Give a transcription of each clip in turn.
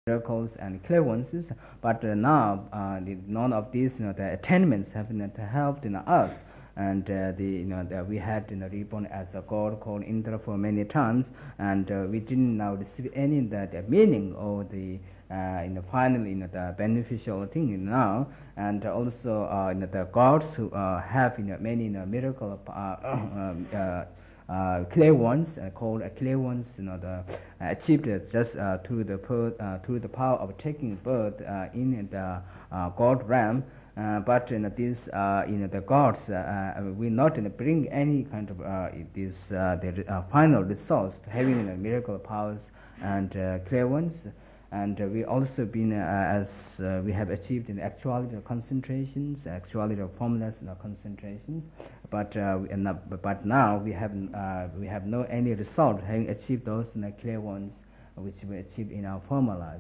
miracles and clairvoyances, but now none of these the attainments have helped us. And we had reborn as a god called Indra for many times, and we didn't now receive any the meaning or the finally the beneficial thing now. And also the gods who have many miracle clairvoyants called clairvoyants achieved just through the power of taking birth in the god realm. But these the gods will not bring any kind of the final results to having miracle powers and clairvoyance. And we also been as we have achieved in actuality of concentrations, actuality of formless concentrations. But now we have no any result having achieved those clairvoyance which we achieved in our former lives.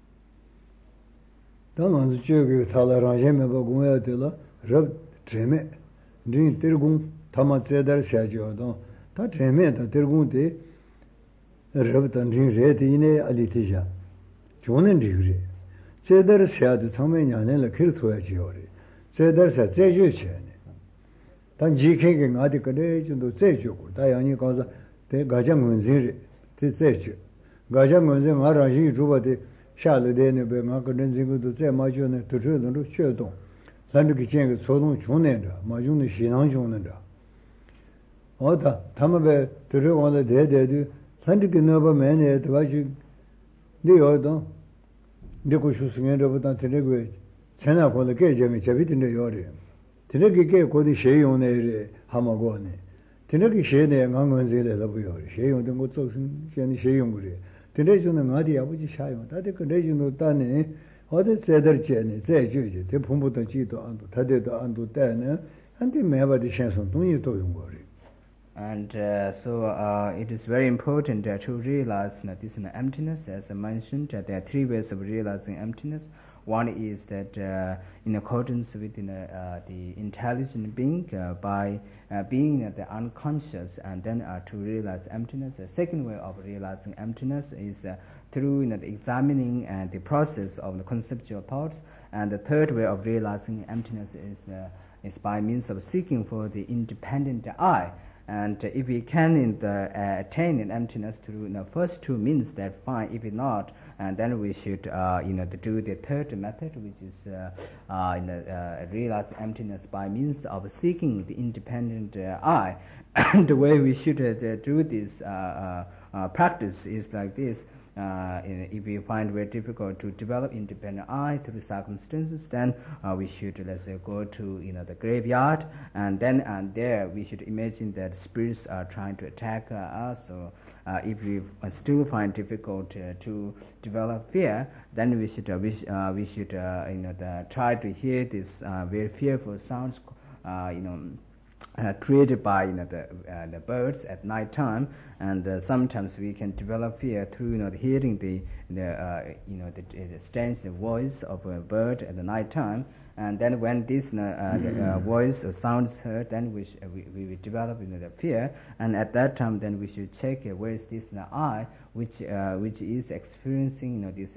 당은 저기 탈라라제메 바고야들라 럽 제메 진 들공 타마체달 샤지오도 다 제메다 들공데 럽던 진 제디네 알리티자 조는 지그리 제דר 샤드 상면이 안에라 키르토야지오리 제더사 제주체네 단 지케게 나디 그래 좀도 제주고 다양히 가서 대 가장문진리 제주 가장문진 알아지 주바데 샤르데네 베가 그런 지구도 제 마주네 들으는 쉐동 산득이 쟁 소동 중내다 마중의 신앙 중내다 어다 담에 들어가는 대대도 산득이 너버 매네 도와지 네어도 네고 수승에로부터 들고 전화 걸을 게 점이 잡히던데 요리 들게 고디 쉐용네 하마고네 들게 쉐네 강원제를 해보요 쉐용된 것 쪽은 쉐용 그래 들레주는 어디 아버지 샤요 다들 그 레주노 따네 어디 제들제네 제주지 대품부터 지도 안도 다대도 안도 때네 한테 매바디 챵선 동이 또 용거리. And so it is very important to realize this emptiness. As I mentioned, there are three ways of realizing emptiness. One is that in accordance with the intelligent being by being the unconscious, and then to realize emptiness. The second way of realizing emptiness is through the examining the process of the conceptual thoughts. And the third way of realizing emptiness is by means of seeking for the independent I. And if we can attain an emptiness through the first two means, that fine. If not, and then we should do the third method, which is realize emptiness by means of seeking the independent I. And the way we should do this practice is like this. If we find very difficult to develop independent I through circumstances, then we should, let's say, go to the graveyard, and there we should imagine that spirits are trying to attack us. So if we still find difficult to develop fear, then we should try to hear this very fearful sounds created by the birds at night time. And sometimes we can develop fear through hearing the strange voice of a bird at the night time. And then when this voice or sound is heard, then we will develop the fear. And at that time, then we should check where is this I which is experiencing this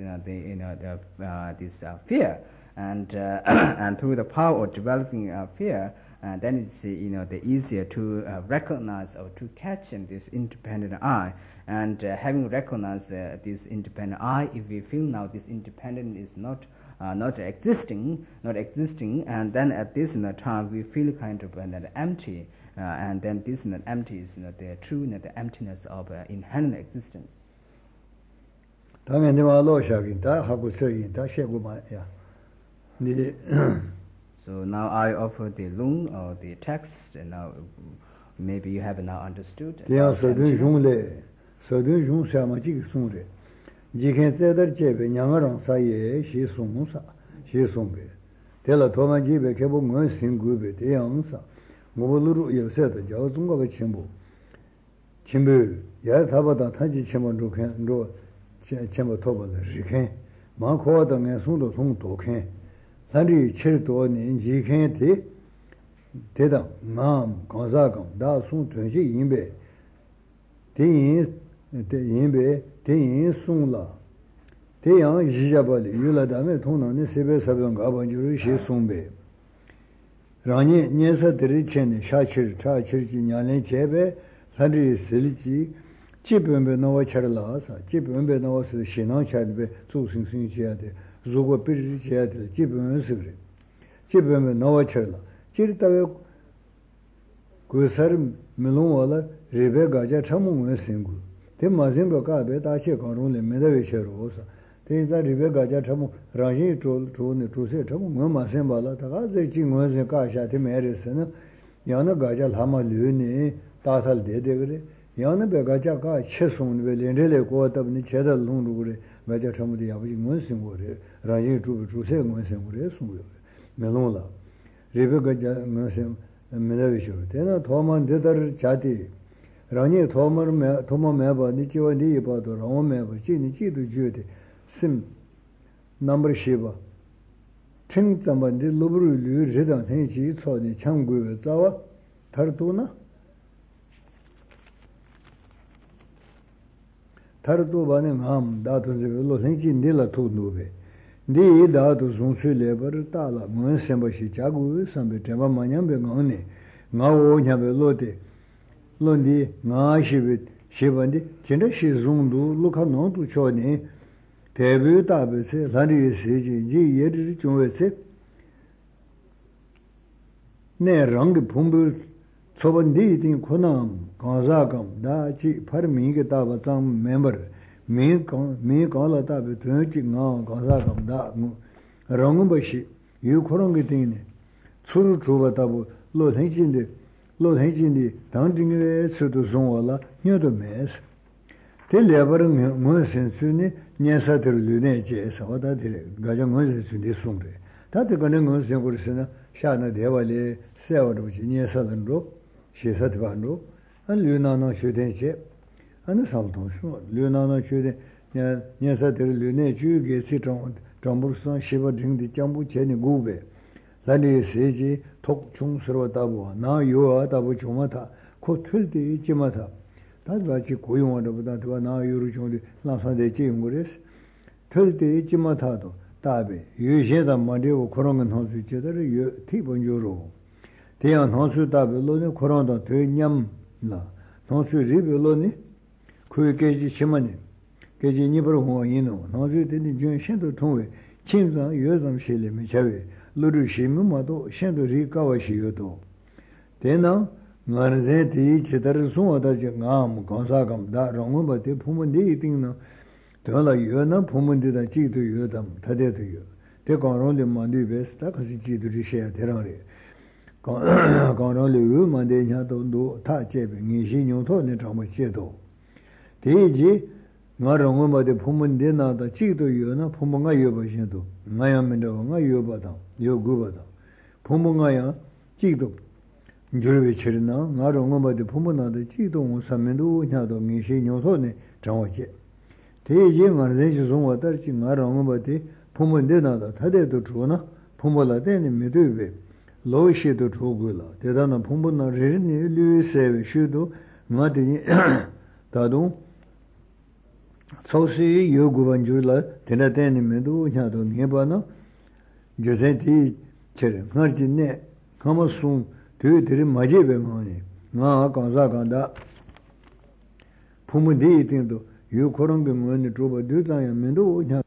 fear. And through the power of developing fear, then it's the easier to recognize or to catch this independent I. And having recognized this independent I, if we feel now this independent is not existing, and then at this time we feel kind of empty, and then this empty is the true the emptiness of inherent existence. So now I offer the lung or the text, and now maybe you have now understood. 산리 칠도니 지켄티 대다 남 건사강 다순 전시 인베 대인 송라 대양 이자발이 유라다메 통나네 세베 사병 가반주로 시송베 라니 녀서들이 첸네 샤치르 차치르지 냐네 제베 산리 실지 집변베 나와 차라라사 집변베 나와서 신앙 차르베 조승승 지야데 조고 비리 지야데 집변스 그래 집변베 나와 차라 지르다베 그 사람 밀롱와라 레베 가자 참몽을 생고 대 마젠베 가베 다체 강론레 메다베 셔로사 대자 리베 가자 참몽 라지 조네 조세 참몽 뭐 마센발라 다가 제지 뭐세 가샤테 메르스는 야나 가자 라마 르네 다살 데데 그래 야나 베 가자 가 쳇송네 렌레레 고답니 제다 롱루 그래 가자 참무디 아버지 뭐생 거래 라지 조세 뭐생 거래 송고 메롱라 리베 가자 뭐생 메다베 셔 대나 도만 데다르 자디 라니 도마 메바 니치와 니 바도 라오 메바 지니 지도 주데 심 넘버 시바 칭zam반데 로브르 르르단 해지 초니 참고에 자와 다르도나 다르도 바네 맘 다든지 로 생지 닐라 토노베 니 다도 존수레버 따라 뭔셈바시 자고 삼베 테마 마냠베 나오네 나오냐베 로데 론디 나시베 시반디 진짜 시중도 루카노도 초니 대비 다베세 라리 세지 지 예르 중에세 내 랑게 품부 초반디 딩 코남 가자감 다지 파르미게 다바장 멤버 미 가라 다베 되지 나 가자감 다 랑음바시 유 코랑게 딩네 추루 주바다부 로henjindi 당딩에 수도 송와라 녀도 메스 텔레버는 뭐센스니 녀사들르네 제서 와다들 가정 뭐센스니 송래 다들 거는 뭐센 거르스나 샤나 대발에 세워도지 녀사들로 시사드반로 안 류나나 슈덴체 안 살도쇼 류나나 슈데 녀사들르네 주게 시정 정부선 시버딩디 정부 제니 고베 라니 세지 독중스러웠다고 나 요하다고 좀하다 코 틀디 있지마다 다같이 고용하다보다 더 나 요를 좀 나서대 지은 거랬어 틀디 있지마다도 답에 유셰다 말이고 그런 건 할수 있지더라 요 티본조로 대한 할수 답을로는 그런다 되냠나 할수 리벨로니 그게지 심하니 게지 니버로 호인노 할수 되는 중 신도 통해 침상 여점 실림이 자외 루르시무마도 셴도리 가와시요도 대나 나르제티 치다르 송어다지 감 건사감다 롱음바데 부문데 이딩나 더라 여나 부문데다 지도 여담 다데도요 대강론데 만디베스타 같이 지도리 셔야 되라래 강론데 만데냐도 타제베 니신용토네 정말 제도 대지 나롱음바데 부문데 나다 지도 여나 부문가 여버신도 나야면도 나 여바다 요구바다 부모가야 지도 저르베 처리나 나롱어바데 부모나데 지도 사면도 냐도 미시뇨소네 정어제 대제 말제지 송와다지 나롱어바데 부모데나다 다데도 주나 부모라데네 메드베 로시도 주고라 대단한 부모나 레니 류세베 슈도 나데니 다도 소시 요구반 줄라 데나데네 메도 냐도 네바나 조세티 체르 가르진네 가마순 되들이 마제베 마니 나 간사간다 부모디 이팅도 요 그런 게 뭐니 줘봐 되자야 면도 냐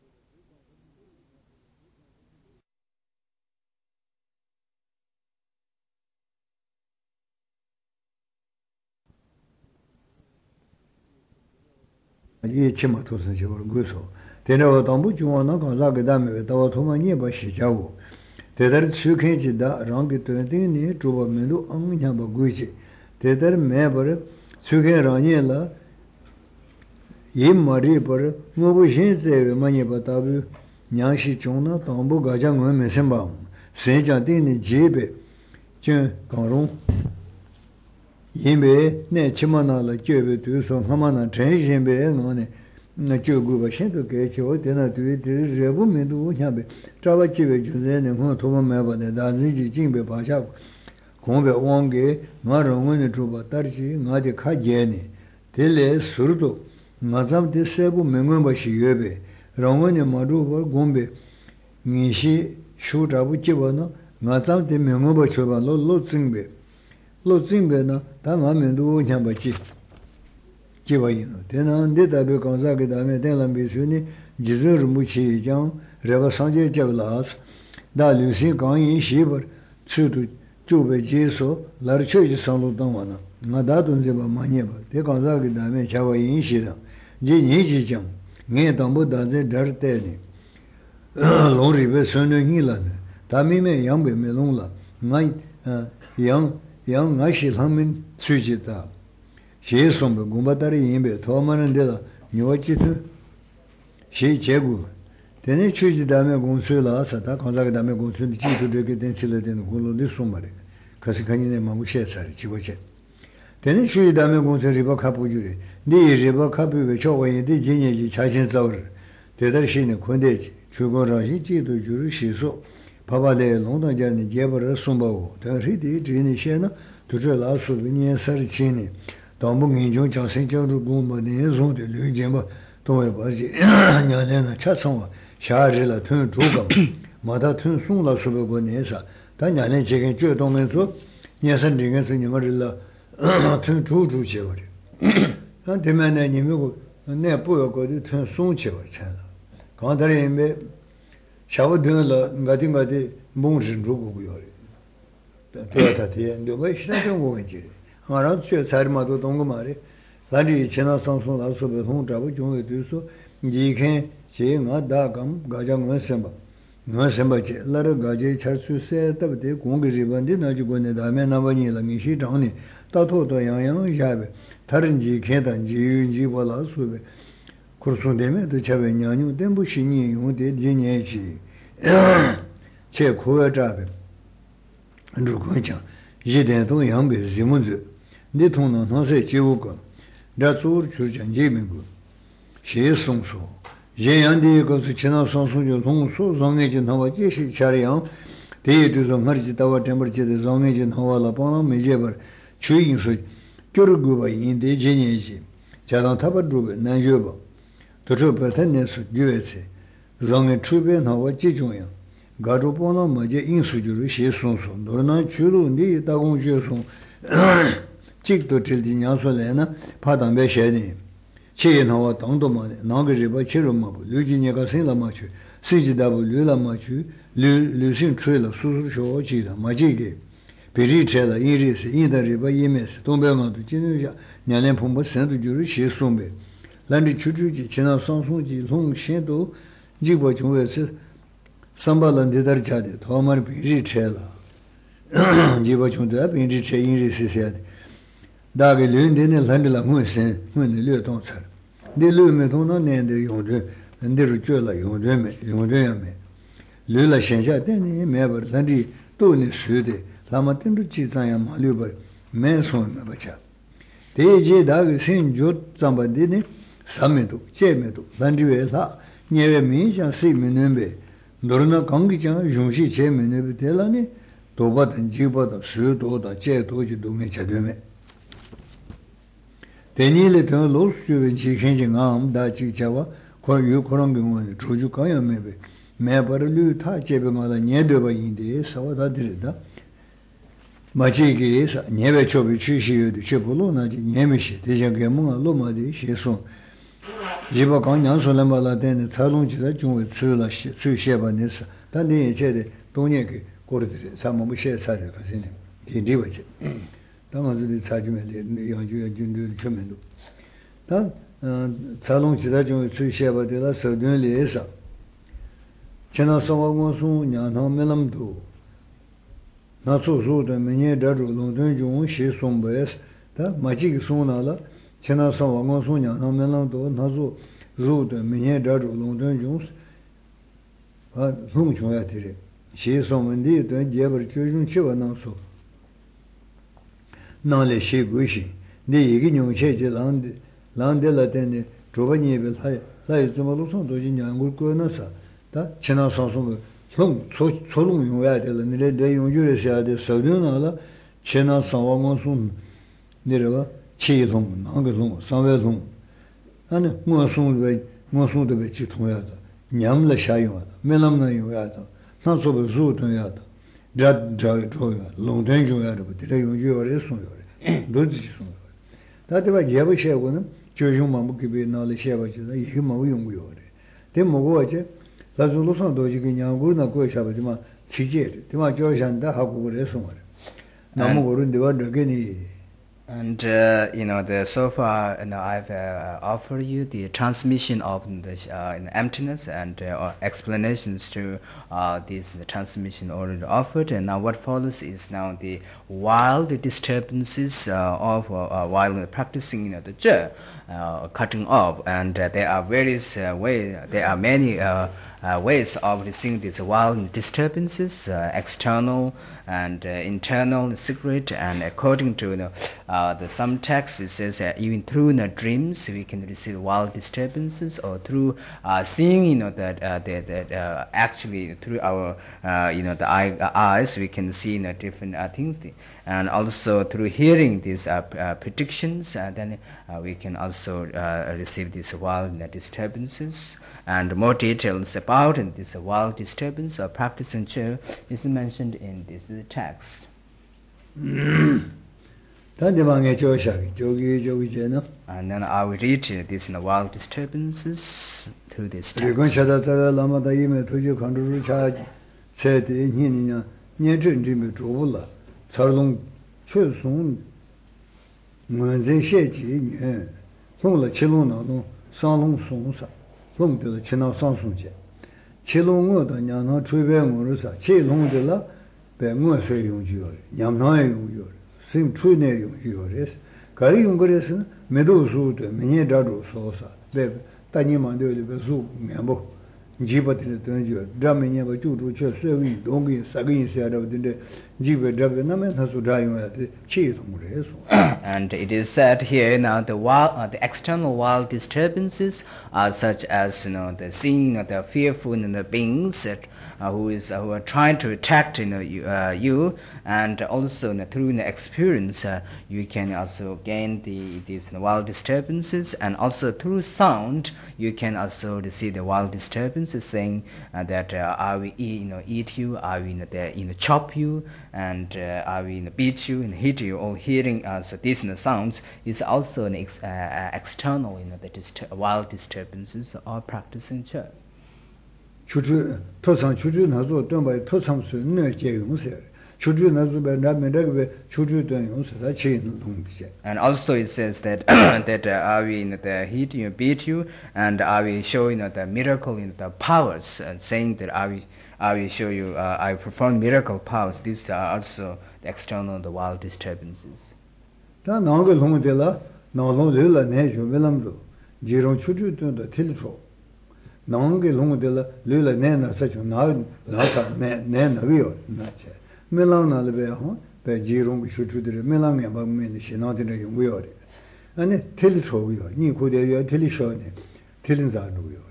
이 치마토서 저거 그래서 대내가 담부 중원나 간사게 담에 다와 도마니 바시 자고 대달 추케지다 랑게 되더니 조바면도 엉냐바 구이지 대달 매버 추케라니라 이 머리 버 뭐부 신세에 많이 받아부 냥시 종나 담부 가장 메셈바 세자되니 제베 저 강롱 이메 내 치마나라 제베 두서 하마나 전신베 너네 나 저거 신도 개초 되나 뒤에 레부면도 냐베 자바집에 주제는 뭐 도마 매바네 다지지 진베 바샤 공베 왕게 나롱은 주바 따르지 나데 카제네 텔레 수르도 나잠데 세부 맹원바시 예베 롱원이 마루고 곰베 니시 슈자부 지원어 나잠데 명어버 줘봐 로징베나 다마면도 냠바지 지와이노 되는데 답에 건사게 다음에 된란 비수니 지르 무치장 레바 상제 잡라스 다류시 강이 시버 추도 주베 제소 라르초지 상로당와나 나다돈제바 마니바 대건사게 다음에 자와인시다 지니지장 네 담보다제 더테니 롱리베 선능이라네 다미메 양베 메롱라 나이 양 나시 하면 수지다 시sombe 공바다리 임베 도마는 데다 뇨지도 시 제구 되네 추지 다음에 공수라서 다 건사게 다음에 공수는 지도 되게 된실에 되는 걸로도 숨말이 그래서 간이네 마무시에서 지고제 되네 추지 다음에 공수 리버 카부주리 네 리버 카부에 저와인데 진예지 자신서를 대달시는 권대지 주거라시 지도 주를 시소 바바레 롱당자는 제버를 숨바고 대리디 진이시나 두저라수 비니에서치니 동봉인종 장생적으로 공부하는 zonde 류제마 동해바지 냐냐나 차성와 샤르라 튼 조금 마다 튼 송라 수보고 내사 단냐네 제게 쥐동면서 녀선딩에서 님을라 튼 조주제버리 한 대면에 님이고 내 보여거든 튼 송치버 차 강다리에 샤워드는 가딘가디 몽진 조고고요 또다티에 너무 시나정 거지 알아 저 사람도 동거말이 라디 지나 상송 라서베 홍자부 종에 돼서 니케 제가 다감 가장은 semba no semba che lara gaje charsu se tabde 공기 리반데 나주고네 다음에 나바니라 미시 장니 따토도 양양 야베 다른지 계단지 윤지 볼라수베 kursundemedo chabe nyanyu dembu shinyi yungde jinyechi che kuwa chabe nrukuncha yiden tong yangbe zimunzu ne tong nang nang se jiwuka ratsur churchan jimingu she songso yen yangde kansu china sangsong jo tongso zangye jin hawa jeshi chariyang deye duzo ngarji dawa tembar jide zangye jin hawa la panglang mejebar chuyin su gyur guba yinde jinyechi jadang tabar drube nanjoba 도저 버튼에서 주에서 정의 추변 하고 지중요 가로보나 뭐제 인수주를 시송소 너나 주로니 다공주소 직도 질디냐소래나 파담배 셔니 체인하고 당도만 나그리바 치료마부 류진이가 생라마치 시지다부 류라마치 류신 트레라 수수쇼 지다 마지게 베리체라 이리스 이다리바 이메스 동병아도 진우자 냐년 풍부 선도 주를 시송배 란디 추주지 지나 상송지 송신도 지고 중에서 삼발란데 다르자데 도마르 비리 체라 지고 중도 비리 체 인리스세야 다게 른데네 란들라 무슨 무슨 려동차 네 르메 돈나 네데 용데 근데로 쪄라 용데메 용데야메 르라 신샤 데네 메버 란디 또네 수데 라마텐도 지자야 말려버 매손 바차 대제 다게 신조 잠바데네 사메도 제메도 반지회사 녀외 민장 시민은베 너르나 강기장 용시 제메네 되라니 도바든 지바다 수도다 제도지 도메 제되메 데니레 더 로스주의 지행징암 다지자와 거유 그런 경우는 조주 가야메베 매버르류 타 제베마다 녀되바인데 사와다 드리다 마치게서 녀외 초비 취시유도 제불로나지 녀미시 대장게 뭔가 로마디 시송 지바 강양솔람발라 되는 차롱지가 중에 출라시 수셰바네스 단내 제대 동네게 고르들이 사모무 셰사를 가시네 디디버지 당아들이 사주면데 양주의 준들 주면도 단 차롱지가 중에 수셰바데라 서든리에서 지나서고수 냐노멜람도 나소소도 메뉴 다루롱던 중 시송베스 다 마지기 송나라 지나서 왕원소냐 나면도 나조 조도 미네 다루 롱던 중스 아 송중야 되리 시소문디 된 제버 주중 치와 나소 나레 시구시 네 얘기 용체제 란데라데네 조바니벨 하이 좀로선 도진 양골 거나사 다 지나서서 형 소롱 용야 될 니레 대 용주에서 돼 서륜나라 지나서 왕원소 내려가 치통 나가송 상외송 아니 무엇송도 왜 지통해야 nyam la shayo melam na yo ya to na so be zu to ya to ja to ya long den jo ya de de yo yo re so yo re do ji so yo ta de ba ye ba she go ne jo jo ma mu ke be na le she ba ji da ye ma wo yong yo re de mo go je la zu lo so do ji ge nyang go na go sha ba ji ma chi je de ma jo shan da ha go re so re na mo go ru de ba de ge ni. And so far, I've offered you the transmission of the emptiness and explanations to this the transmission already offered. And now what follows is now the wild disturbances of while practicing the je, cutting off. And there are various ways. There are many ways of seeing these wild disturbances, external and internal, secret, and according to the some texts, it says that even through the dreams we can receive wild disturbances, or through seeing, that actually through our the eyes we can see different things, and also through hearing these predictions, then we can also receive these wild disturbances. And more details about this wild disturbance or practicing Che is mentioned in this text. And then I will read these wild disturbances through this text. long de la china sang sung je chi long ngo da nyang na chui be ngo ru sa chi long de la be ngo sui yong ji yo nyam na yong yo sim chui ne yong ji yo res ga ri yong ge res me do su de me ne da do so sa be ta ni ma de le be su me bo ji ba de de ji da me ne ba ju du che sui wi dong ge sa ge se da de ji be da be na me na su da yong ya de chi sung re so. And it is said here now the external wild disturbances are such as the seeing the fearful the beings that who are trying to attack you, and also through the experience you can also gain these wild disturbances, and also through sound you can also receive the wild disturbances, saying that I will eat you, I will chop you, and I will beat you and hit you, or hearing so these sounds is also an external wild disturbances or practicing church. 추주 토상 추주 나zo 돈바이 토상수 네 제용세 추주 나zo 베나메데베 추주 돈 용세다 체인 동비제. And also it says that that I will hit you, beat you, and I will show the miracle the powers, and saying that I will show you I perform miracle powers. These are also the external the wild disturbances. 다 나오게 동데라 나오로들라 내죠 벨람도 지롱 추주 돈도 틀초 나오게 동데라 르라 내나 사죠 나사 내나비요 나체 멜랑나르베호 배 지롱 추주들 멜랑에 방면이 신호들의 용구요 아니 틀초고요 니 고대요 틀리셔네 틀린자노요.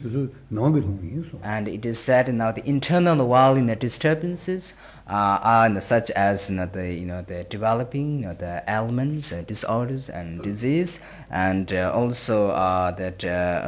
And it is said now the internal wild disturbances are such as the developing the ailments, disorders, and disease, and also that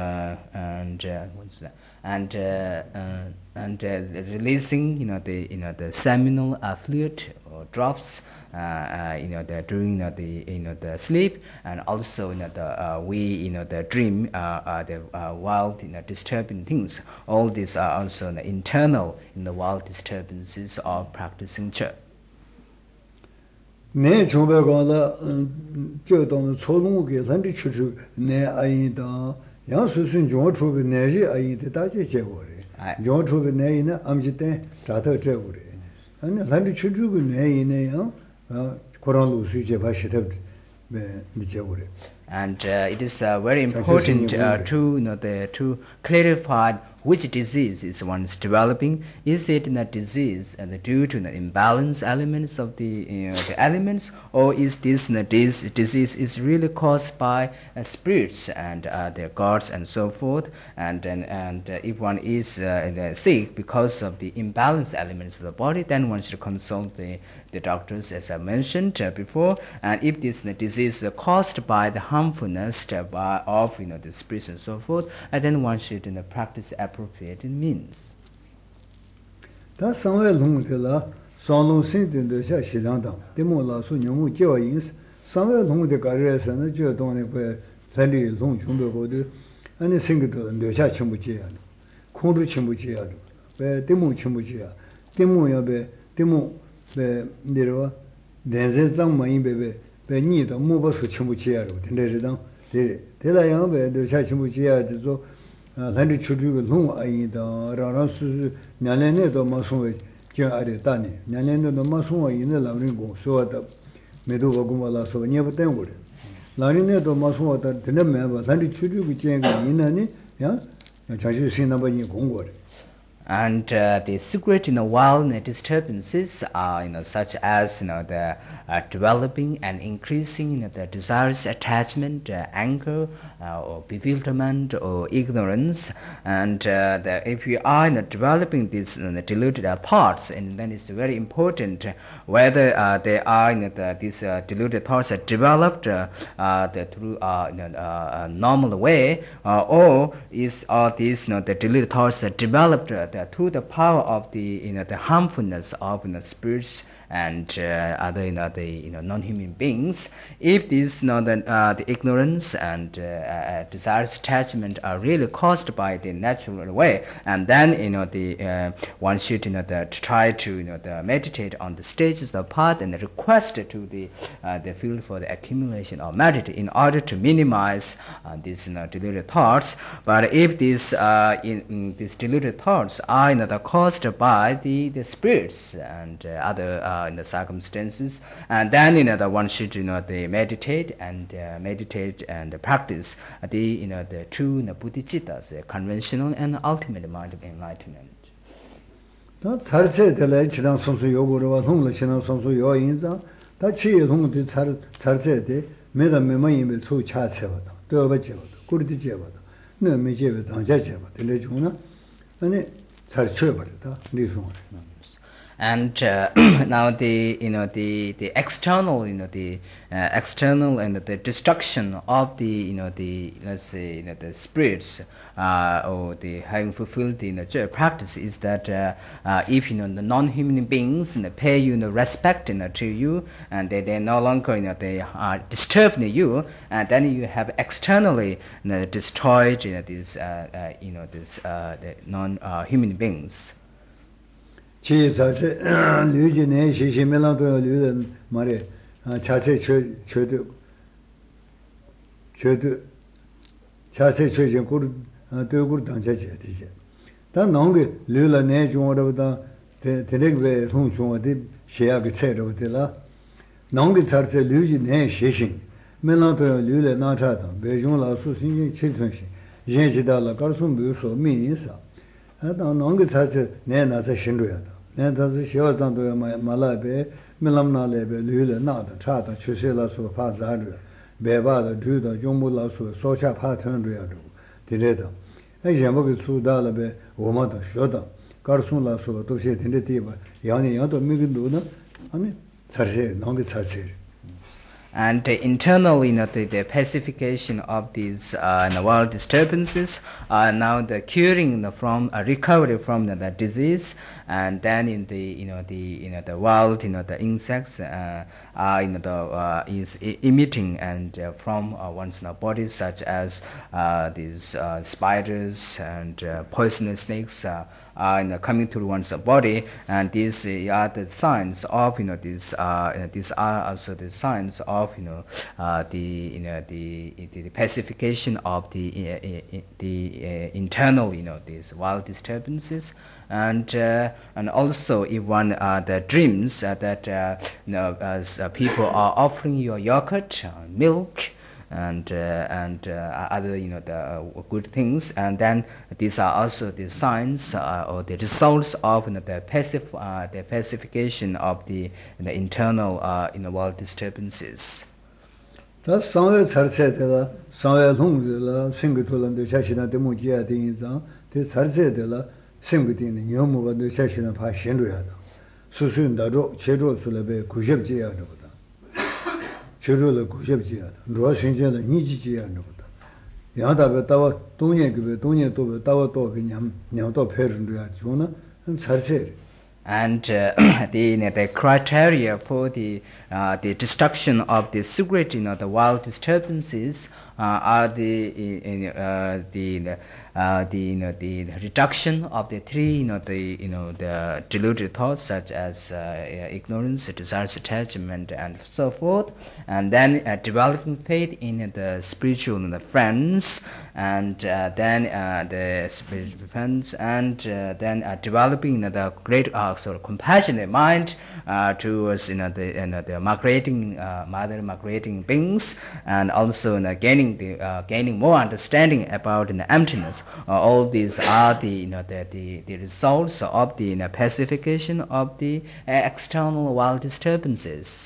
releasing the seminal fluid or drops during the sleep, and also the dream the wild disturbing things. All these are also internal in the wild disturbances of practicing church. 네 정배가라 저동 초롱게 산지 추추 네 아이다 양수순 정초베 내지 아이데 다제 제고래 정초베 내이나 암지때 다더 제고래 아니 산지 추추고 내이네요 코란로 수제 바시데 네 제고래. And it is very important to clarify which disease is one is developing. Is it a disease due to the imbalance elements of the elements, or is this disease is really caused by spirits and their gods and so forth? And if one is sick because of the imbalance elements of the body, then one should consult the doctors, as I mentioned before. And if this disease is caused by the harmfulness of the spirits and so forth, and then one should practice appropriate means. 다 상외 농들라 상농 신든데 샤시랑당 데모라 수녀무 제와인스 상외 농데 가르에서는 저 동네 그 살리 농 중도고도 아니 생각도 뇌샤 침부지야 콩도 침부지야 왜 데모 침부지야 데모야베 데모 배 내려와 내세장 많이 베베 배니도 무버스 침부지야로 된대지당 대다양베 뇌샤 침부지야 저 한리 추주가 농 아이다 라라스 냐레네도 마송에 저 아래 다니 냐레네도 마송에 있는 라브링고 소와다 메도가 고말라서 녀부터 거래 라리네도 마송하다 되는 매바 한리 추주가 제가 있나니 야 자주 신나버니 공거래. And the secret wild disturbances are such as the developing and increasing the desires, attachment, anger, or bewilderment, or ignorance. And if we are developing these deluded thoughts, and then it's very important whether they are these deluded thoughts are developed through a normal way, or are these the deluded thoughts are developed through the power of the the harmfulness of spirits and other non-human beings. If these the ignorance and desires, attachment are really caused by the natural way, and then one should try to meditate on the stages of the path and request to the field for the accumulation of merit in order to minimize these deluded thoughts. But if these these deluded thoughts are caused by the spirits and other in the circumstances, and then one should they meditate and practice the true bodhicittas, conventional and ultimate mind of enlightenment. 다 살세 될래 지난 선수 요구로와 통로 지난 선수 요인자 다 치유 통도 살세데 매다 매만이면 소 차세거든. 또 버지거든. 꾸리디 제거든. 네 매제베 당자 제거. 될래 주나 아니 잘 쳐버렸다. 리송. And now the the external external and the destruction of the let's say the spirits or the having fulfilled the practice is that if the non-human beings pay respect to you, and they no longer they are disturbing you, and then you have externally destroyed these the non-human beings. 치 자세 류진의 시시멜랑도 류는 말에 자세 최도 자세 최전 고르 되고 당자제 되지. 다 나온게 류라 내 중어로다 대대게 송중어데 시야게 체로 되라. 나온게 자세 류진의 시신 멜랑도 류레 나타다. 배중라 수신이 칠천시. 예지다라 가르송 비서 미인사. 다 나온게 자세 내 나서 신도야다. 내다서 시어장도 말라베 밀람나레베 류레 나다 차다 추세라서 파자르 배바다 주다 종무라서 소차 파턴르야도 디레다 에제모비 수다라베 오마다 쇼다 가르송라서 도시 딘데티바 야니 야도 미긴도나 아니 차세 나온게 차세. And internally, the pacification of these wild disturbances, now the curing from recovery from the disease, and then in the the wild the insects is emitting and from one's body, such as these spiders and poisonous snakes are coming to one's body, and these are the signs of these are also the signs of the pacification of the internal these wild disturbances. And also if one the dreams that as people are offering you yogurt, milk, and other the good things, and then these are also the signs or the results of the pacification of the internal wild disturbances. 다 상외 살세되라 상외 통들라 생각들한테 자신한테 무지야 되니까 대 살세되라 생각되는 영무가 자신한 파신로야다. 수순다로 제로술에 90지야로다. 제로를 90지야. 로신제는 니지지야로다. 양다베 따와 동년급에 동년도베 따와 도베 냠도 페르는도야 주나 살세 And the criteria for the destruction of the secret, the wild disturbances are the reduction of the three, the deluded thoughts such as ignorance, desires, attachment, and so forth, and then developing faith in the spiritual friends, and then the spiritual friends, and then developing the great sort of compassionate mind towards the migrating migrating beings, and also gaining more understanding about the emptiness. All these are the results of the pacification of the external wild disturbances.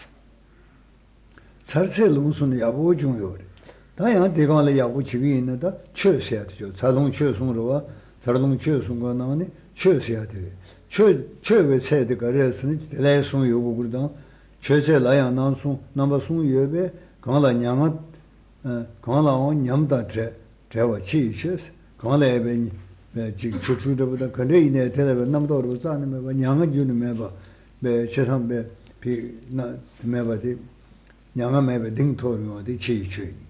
살세 롱순이 야보 중요해. 다양 대강을 야보 지기 있는다. 최셔야 되죠. 자동 최송으로와 자동 최송과 나오니 최셔야 돼. 최외 세대 거래스는 대래송 요구 그러다. 최세 라야 나송 남바송 예배 강라 냥아 강라오 냠다 제와 치셔스 강라에베 지금 추추도보다 근데 이내 대답에 남도로 자는 거 냥아 주는 매바 배 세상배 비나 매바디 냥아 매베 등토로 어디 치취